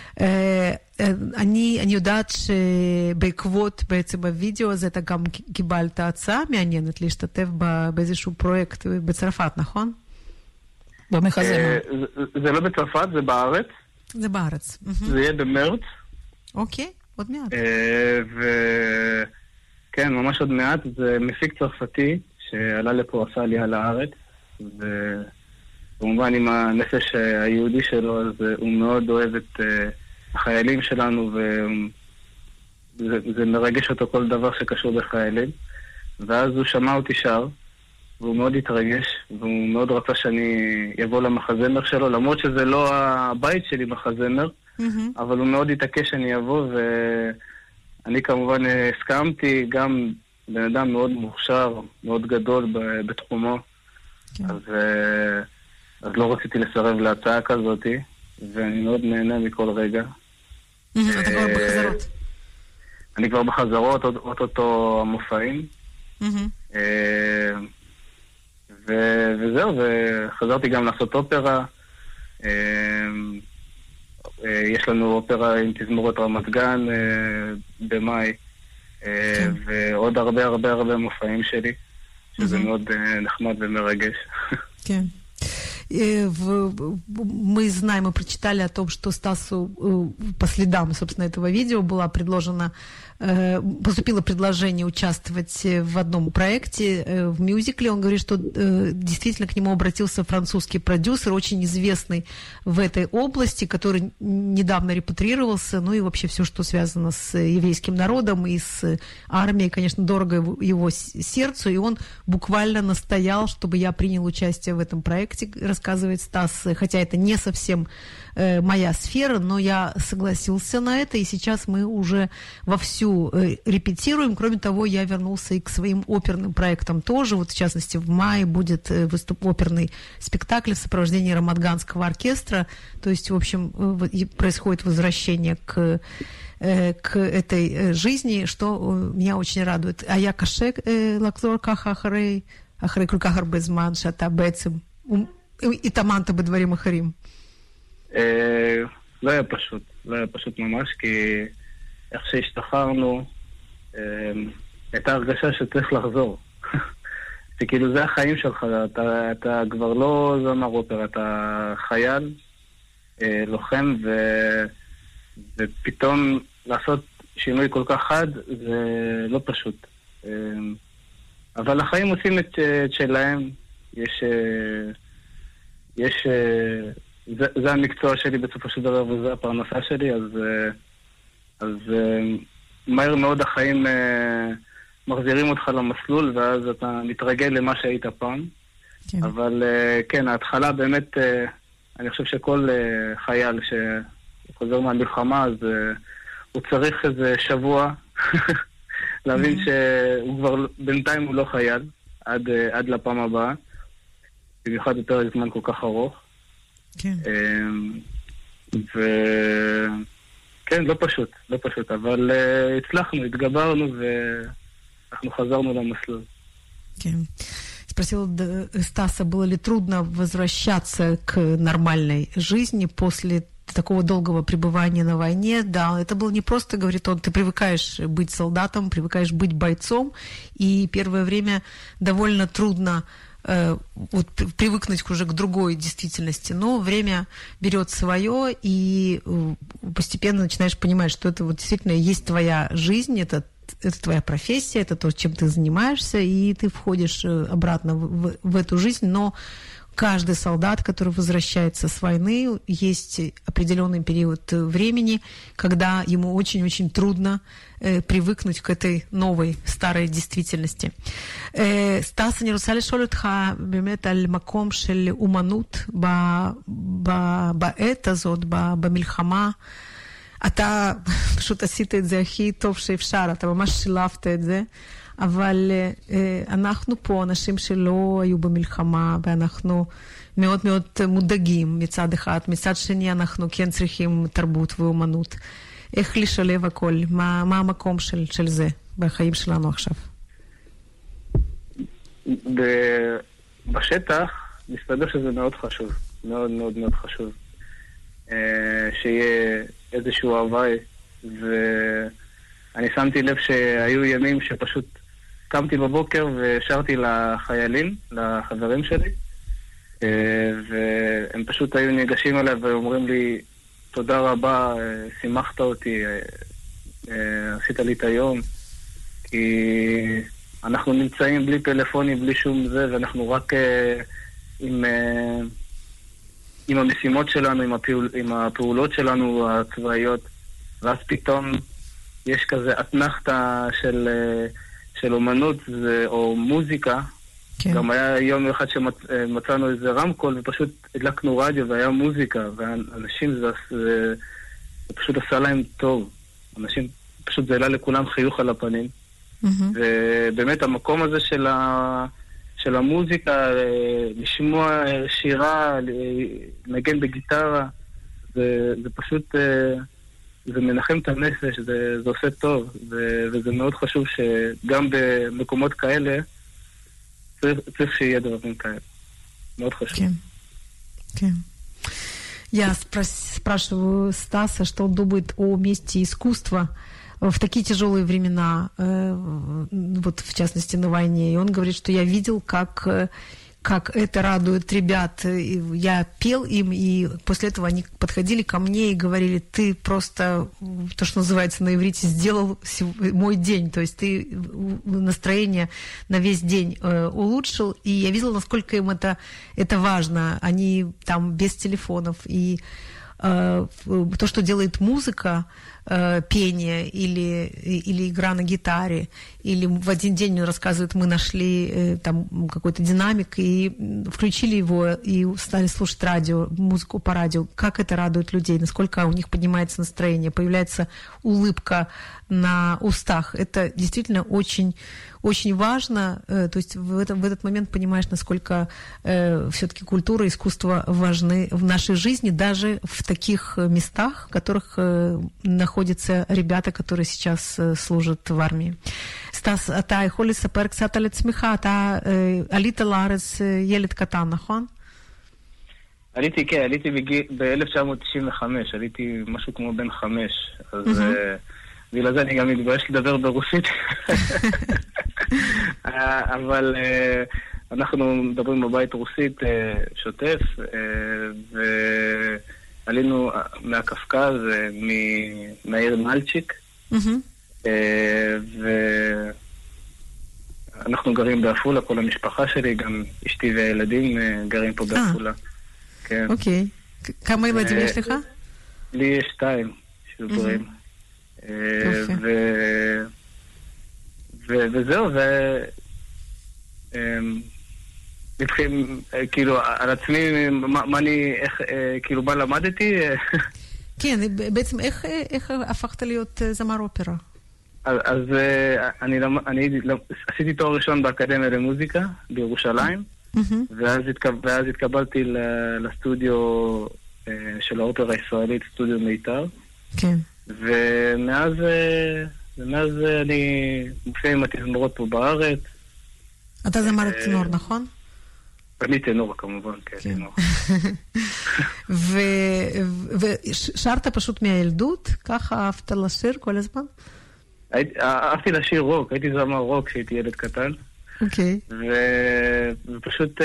אני יודעת שבעקבות בעצם הווידאו הזה אתה גם קיבלת הצעה מעניינת להשתתף באיזשהו פרויקט בצרפת, נכון? במחזמר. זה לא בצרפת, זה בארץ. זה בארץ. זה יהיה במרץ. אוקיי, עוד מעט. כן, ממש עוד מעט. זה מפיק צרפתי שעלה לפה, עשה עלייה לארץ. וכמובן עם הנפש היהודי שלו, אז הוא מאוד אוהב את החיילים שלנו, וזה מרגש אותו כל דבר שקשור בחיילים. ואז הוא שמע אותי שר, והוא מאוד התרגש, והוא מאוד רצה שאני אבוא למחזמר שלו, למרות שזה לא הבית שלי מחזמר, אבל הוא מאוד התעקש שאני אבוא, ואני כמובן הסכמתי, גם בן אדם מאוד מוכשר, מאוד גדול בתחומו, אז לא רציתי לסרב להצעה כזאת, ואני מאוד נהנה מכל רגע. אתה כבר בחזרות. אני כבר בחזרות, אותו המופעים. וזהו, וחזרתי גם לעשות אופרה. יש לנו אופרה עם תזמורת רמת גן במאי, ועוד הרבה מופעים שלי, שזה מאוד נחמד ומרגש. כן. Мы знаем, мы прочитали о том, что Стасу по следам, собственно, этого видео поступило предложение участвовать в одном проекте, в мюзикле. Он говорит, что действительно к нему обратился французский продюсер, очень известный в этой области, который недавно репатриировался, ну и вообще все, что связано с еврейским народом и с армией, конечно, дорого его сердцу, и он буквально настоял, чтобы я принял участие в этом проекте, рассказывает Стас, хотя это не совсем моя сфера, но я согласился на это, и сейчас мы уже вовсю репетируем. Кроме того, я вернулся и к своим оперным проектам тоже. Вот, в частности, в мае будет оперный спектакль в сопровождении Рамадганского оркестра. То есть, в общем, происходит возвращение к этой жизни, что меня очень радует. А я каше лакзор кахахарей, ахарей кулькахар безман, шата бецем, и таманта бедварим ахарим. לא היה פשוט ממש, כי איך שהשתחררנו, הייתה הרגשה שצריך לחזור. זה כאילו, זה החיים שלך, אתה כבר לא זמר אופרה, אתה חייל, לוחם, ופתאום לעשות שינוי כל כך חד, זה לא פשוט. אבל החיים עושים את שלהם, יש זה המקצוע שלי בסופו של דבר, וזה הפרנסה שלי, אז מהר מאוד החיים מחזירים אותך למסלול, ואז אתה מתרגל למה שהיית פעם. כן. אבל כן, ההתחלה באמת, אני חושב שכל חייל שחוזר מהמלחמה, אז הוא צריך איזה שבוע להבין שהוא כבר, בינתיים הוא לא חייל, עד לפעם הבאה, במיוחד יותר זמן כל כך ארוך. כן. כן, לא פשוט, אבל הצלחנו, התגברנו ואנחנו חזרנו למסלול. כן. Спросила Стаса, было ли трудно возвращаться к нормальной жизни после такого долгого пребывания на войне. Да, это было не просто, говорит он, ты привыкаешь быть солдатом, привыкаешь быть бойцом, и первое время довольно трудно вот привыкнуть уже к другой действительности, но время берет свое, и постепенно начинаешь понимать, что это вот действительно есть твоя жизнь, это твоя профессия, это то, чем ты занимаешься, и ты входишь обратно в эту жизнь, но каждый солдат, который возвращается с войны, есть определенный период времени, когда ему очень-очень трудно привыкнуть к этой новой, старой действительности. סטס, אני רוצה לשאול אותך באמת על מקום של אומנות בעת הזאת, במלחמה. אתה פשוט עשית את זה הכי טוב שאפשר, אתה ממש שילבת את זה, אבל אנחנו פה אנשים שלא היו במלחמה, ואנחנו מאוד מאוד מודאגים מצד אחד, מצד שני אנחנו כן צריכים תרבות ואומנות. איך לשלב הכל? מה המקום של זה בחיים שלנו עכשיו? בשטח מסתבר שזה מאוד חשוב, מאוד מאוד מאוד חשוב. שיהיה איזשהו הוואי, ואני שמתי לב שהיו ימים שפשוט קמתי בבוקר ושרתי לחיילים, לחברים שלי, והם פשוט היו ניגשים אליי ואומרים לי, תודה רבה, שימחת אותי, עשית לי את היום, כי אנחנו נמצאים בלי פלאפונים, בלי שום זה, ואנחנו רק עם המשימות שלנו, עם הפעולות שלנו הצבאיות, ואז פתאום יש כזה אתנחתה של אומנות או מוזיקה. כן. גם היה יום אחד שמצאנו איזה רמקול ופשוט הדלקנו רדיו והיה מוזיקה, ואנשים זה פשוט עשה להם טוב. אנשים פשוט זה העלה לכולם חיוך על הפנים. ובאמת המקום הזה של המוזיקה, לשמוע שירה, לנגן בגיטרה, זה פשוט, זה מנחם את הנפש, זה עושה טוב, וזה מאוד חשוב שגם במקומות כאלה צריך שיהיה דברים כאלה. מאוד חשוב. כן, כן. Я спрашиваю Стаса, что он думает о месте искусства в такие тяжелые времена, вот в частности на войне. И он говорит, что я видел, как это радует ребят. Я пел им, и после этого они подходили ко мне и говорили, ты просто, то, что называется на иврите, сделал мой день. То есть ты настроение на весь день улучшил. И я видела, насколько им это важно. Они там без телефонов. И то, что делает музыка, пение или игра на гитаре, или в один день, он рассказывает, мы нашли там какой-то динамик и включили его и стали слушать радио, музыку по радио. Как это радует людей, насколько у них поднимается настроение, появляется улыбка на устах. Это действительно очень, очень важно. То есть в этот момент понимаешь, насколько все-таки культура и искусство важны в нашей жизни, даже в таких местах, в которых находятся ребята, которые сейчас служат в армии. סטס, אתה יכול לספר קצת על עצמך? אתה עלית לארץ ילד קטן, נכון? עליתי ב-1995, עליתי משהו כמו בן 5, אז בגלל זה אני גם מתבייש לדבר ברוסית. אבל אנחנו מדברים בבית רוסית שוטף, ועלינו מהקפקז, מהעיר מלצ'יק, ואנחנו גרים באפולה, כל המשפחה שלי, גם אשתי והילדים גרים פה באפולה. אוקיי. כמה ילדים יש לך? לי יש 2 שבוגרים. וזהו, מתחילים, כאילו, על עצמי, כאילו, מה למדתי? כן, בעצם איך הפכת להיות זמר אופרה? אז אני עשיתי תואר ראשון באקדמיה למוזיקה בירושלים, ואז התקבלתי לסטודיו של האופרה הישראלית, סטודיו מיתר. כן. ומאז אני מופיע עם התזמורות פה בארץ. אתה זמר טנור, נכון? אני טנור כמובן, כן, טנור. ושרת פשוט מהילדות? ככה אהבת לשיר כל הזמן? אהבתי לשיר רוק, הייתי זמר רוק כשהייתי ילד קטן. אוקיי. ופשוט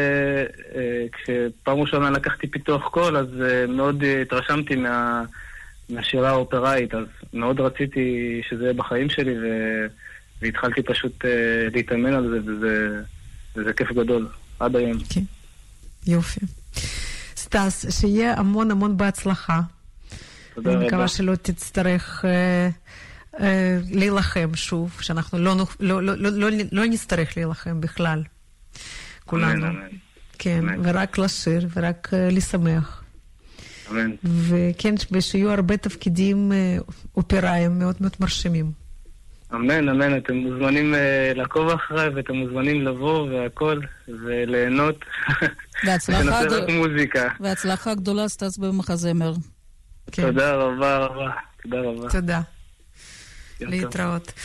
כשפעם ראשונה לקחתי פיתוח קול, אז מאוד התרשמתי מהשירה האופראית, אז מאוד רציתי שזה יהיה בחיים שלי, והתחלתי פשוט להתאמן על זה, וזה כיף גדול, עד היום. כן. יופי. סטס, שיהיה המון המון בהצלחה. תודה אני רבה. מקווה שלא תצטרך להילחם שוב, שאנחנו לא נצטרך להילחם בכלל, כולנו. אמן. כן, אמן. ורק לשיר, ורק לשמח. אמן. וכן, ושיהיו הרבה תפקידים אופראיים מאוד מאוד מרשימים. אמן, אתם מוזמנים לעקוב אחריי, ואתם מוזמנים לבוא והכל, וליהנות. והצלחה ונעשה רק מוזיקה. והצלחה גדולה, סטס במחזמר. כן. תודה רבה. туда, рава. Туда. Литраот.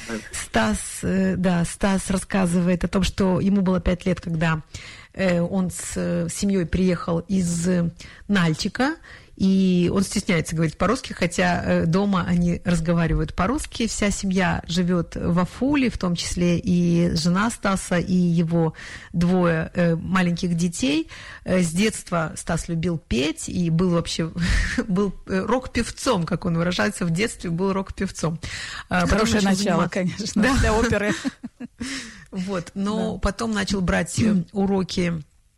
Стас рассказывает о том, что ему было 5 лет, когда он с семьей приехал из Нальчика, и он стесняется говорить по-русски, хотя дома они разговаривают по-русски. Вся семья живет в Афуле, в том числе и жена Стаса, и его 2 маленьких детей. С детства Стас любил петь и был вообще рок-певцом, как он выражается, в детстве был рок-певцом. Хорошее начало, конечно, для оперы. Вот, но потом начал брать уроки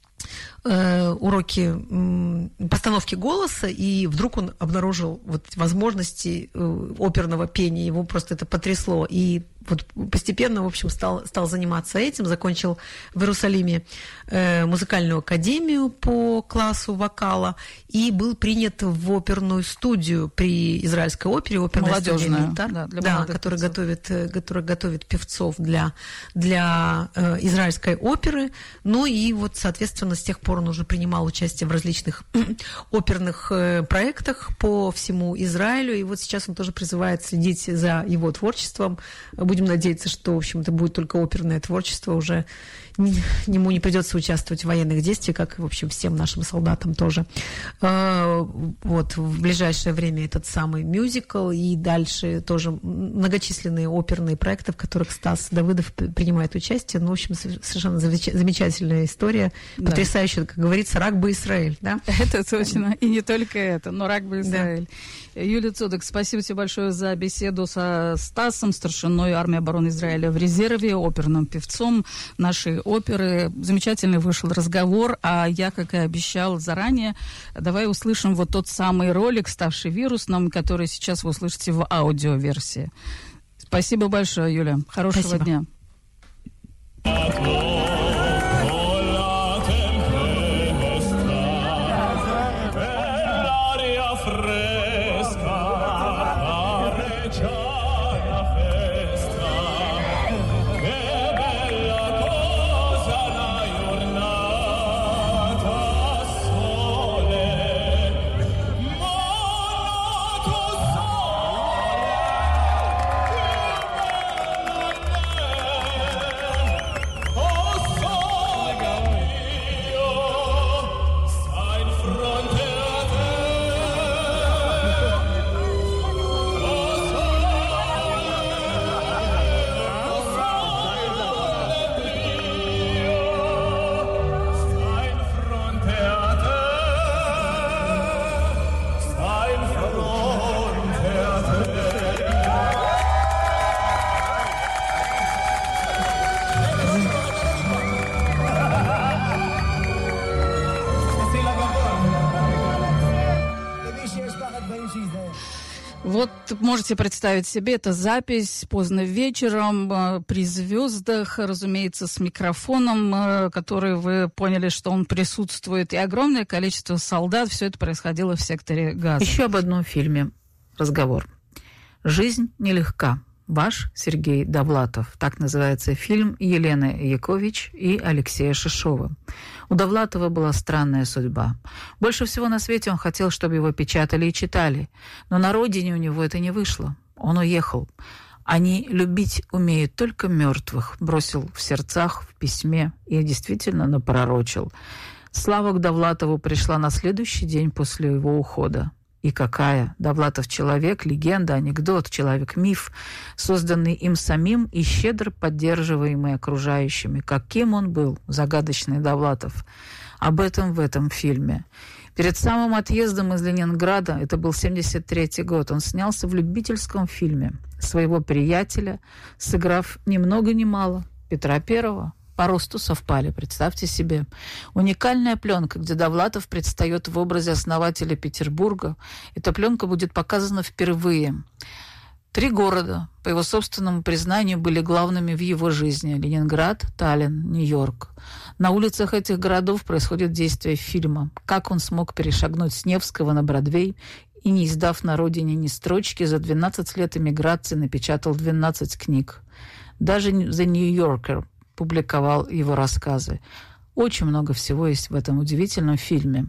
постановки голоса, и вдруг он обнаружил вот возможности оперного пения, его просто это потрясло, и вот постепенно, в общем, стал заниматься этим, закончил в Иерусалиме музыкальную академию по классу вокала и был принят в оперную студию при Израильской опере, оперная молодежная, студия, которая готовит певцов для израильской оперы. Ну и вот, соответственно, с тех пор он уже принимал участие в различных оперных проектах по всему Израилю, и вот сейчас он тоже призывает следить за его творчеством. Будем надеяться, что, в общем, это будет только оперное творчество, уже ему не придется участвовать в военных действиях, как и, в общем, всем нашим солдатам тоже. Вот, в ближайшее время этот самый мюзикл, и дальше тоже многочисленные оперные проекты, в которых Стас Давыдов принимает участие. Ну, в общем, совершенно замечательная история, потрясающая, как говорится, рак бы Израиль, да? Это точно, и не только это, но рак бы Израиль. Да. Юлия Цудок, спасибо тебе большое за беседу со Стасом, старшиной армии обороны Израиля в резерве, оперным певцом нашей оперы. Замечательный вышел разговор, а я, как и обещал заранее, давай услышим вот тот самый ролик, ставший вирусным, который сейчас вы услышите в аудиоверсии. Спасибо большое, Юля. Хорошего дня. Вот можете представить себе, это запись поздно вечером, при звездах, разумеется, с микрофоном, который вы поняли, что он присутствует, и огромное количество солдат. Все это происходило в секторе Газа. Еще об одном фильме разговор. «Жизнь нелегка». Ваш Сергей Довлатов. Так называется фильм Елены Якович и Алексея Шишова. У Довлатова была странная судьба. Больше всего на свете он хотел, чтобы его печатали и читали. Но на родине у него это не вышло. Он уехал. Они любить умеют только мертвых, бросил в сердцах, в письме и действительно напророчил. Слава к Довлатову пришла на следующий день после его ухода. И какая! Довлатов человек, легенда, анекдот, человек-миф, созданный им самим и щедро поддерживаемый окружающими. Каким он был, загадочный Довлатов. Об этом в этом фильме. Перед самым отъездом из Ленинграда, это был 1973 год, он снялся в любительском фильме своего приятеля, сыграв ни много ни мало Петра Первого. по росту совпали, представьте себе. Уникальная пленка, где Довлатов предстает в образе основателя Петербурга. Эта пленка будет показана впервые. 3 города, по его собственному признанию, были главными в его жизни. Ленинград, Таллин, Нью-Йорк. На улицах этих городов происходит действие фильма. Как он смог перешагнуть с Невского на Бродвей и, не издав на родине ни строчки, за 12 лет эмиграции напечатал 12 книг. Даже The New Yorker публиковал его рассказы. Очень много всего есть в этом удивительном фильме.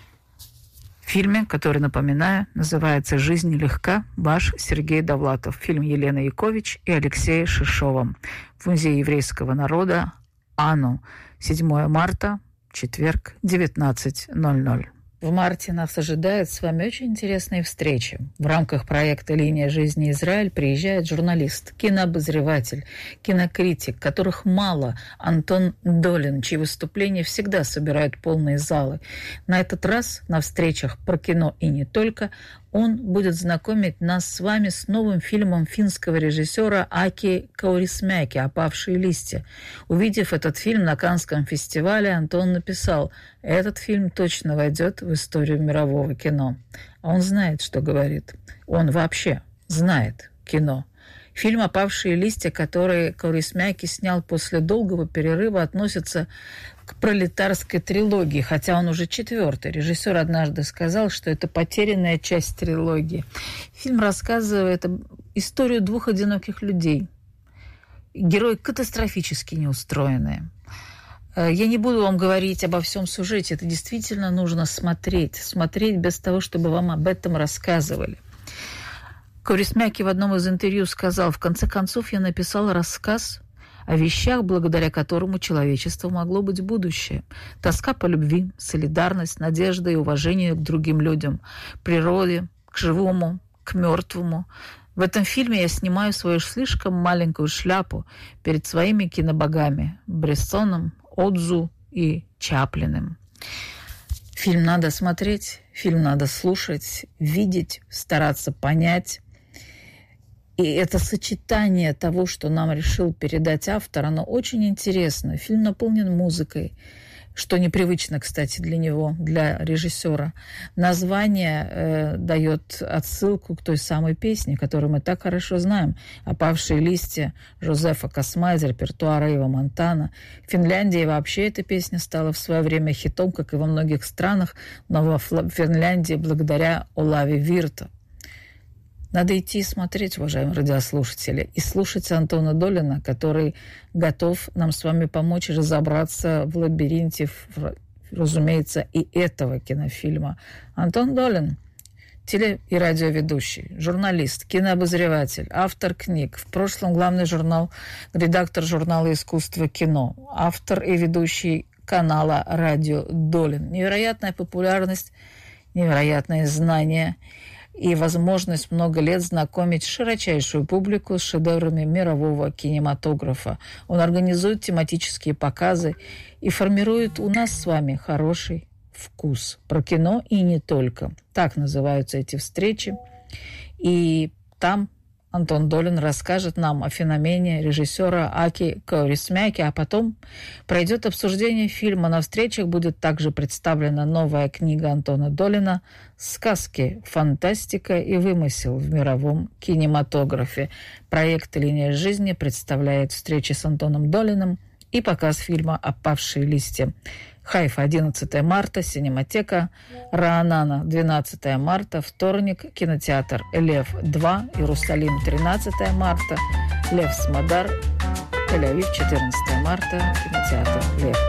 Фильме, который, напоминаю, называется «Жизнь нелегка», ваш Сергей Довлатов. Фильм Елены Якович и Алексея Шишова. В Музее еврейского народа АНУ. 7 марта, четверг, 19:00. В марте нас ожидает с вами очень интересные встречи. В рамках проекта «Линия жизни Израиль» приезжает журналист, кинообозреватель, кинокритик, которых мало, Антон Долин, чьи выступления всегда собирают полные залы. На этот раз на встречах про кино и не только он будет знакомить нас с вами с новым фильмом финского режиссера Аки Каурисмяки «Опавшие листья». Увидев этот фильм на Каннском фестивале, Антон написал: «Этот фильм точно войдет в историю мирового кино». А он знает, что говорит. Он вообще знает кино. Фильм «Опавшие листья», который Каурисмяки снял после долгого перерыва, относится к пролетарской трилогии, хотя он уже 4-й. Режиссер однажды сказал, что это потерянная часть трилогии. Фильм рассказывает историю 2 одиноких людей. Герои катастрофически неустроенные. Я не буду вам говорить обо всем сюжете. Это действительно нужно смотреть. Смотреть без того, чтобы вам об этом рассказывали. Каурисмяки в одном из интервью сказал: «В конце концов, я написал рассказ о вещах, благодаря которому человечество могло быть будущее. Тоска по любви, солидарность, надежда и уважение к другим людям, природе, к живому, к мертвому. В этом фильме я снимаю свою слишком маленькую шляпу перед своими кинобогами Брессоном, Одзу и Чаплиным». Фильм надо смотреть, фильм надо слушать, видеть, стараться понять. И это сочетание того, что нам решил передать автор, оно очень интересно. Фильм наполнен музыкой, что непривычно, кстати, для него, для режиссера. Название дает отсылку к той самой песне, которую мы так хорошо знаем. «Опавшие листья» Жозефа Косма из репертуара Ива Монтана. В Финляндии вообще эта песня стала в свое время хитом, как и во многих странах, но во Финляндии благодаря Олави Вирта. Надо идти и смотреть, уважаемые радиослушатели, и слушать Антона Долина, который готов нам с вами помочь разобраться в лабиринте, разумеется, и этого кинофильма. Антон Долин, теле- и радиоведущий, журналист, кинообозреватель, автор книг, в прошлом главный редактор журнала «Искусство кино», автор и ведущий канала «Радио Долин». Невероятная популярность, невероятное знание и возможность много лет знакомить широчайшую публику с шедеврами мирового кинематографа. Он организует тематические показы и формирует у нас с вами хороший вкус про кино и не только. Так называются эти встречи. И там Антон Долин расскажет нам о феномене режиссера Аки Каурисмяки, а потом пройдет обсуждение фильма. На встречах будет также представлена новая книга Антона Долина «Сказки, фантастика и вымысел в мировом кинематографе». Проект «Линия жизни» представляет встречи с Антоном Долиным и показ фильма «Опавшие листья». Хайфа, 11 марта, Синематека, Раанана, 12 марта, вторник, кинотеатр Лев-2, Иерусалим, 13 марта, Лев Смадар, Тель-Авив, 14 марта, кинотеатр Лев.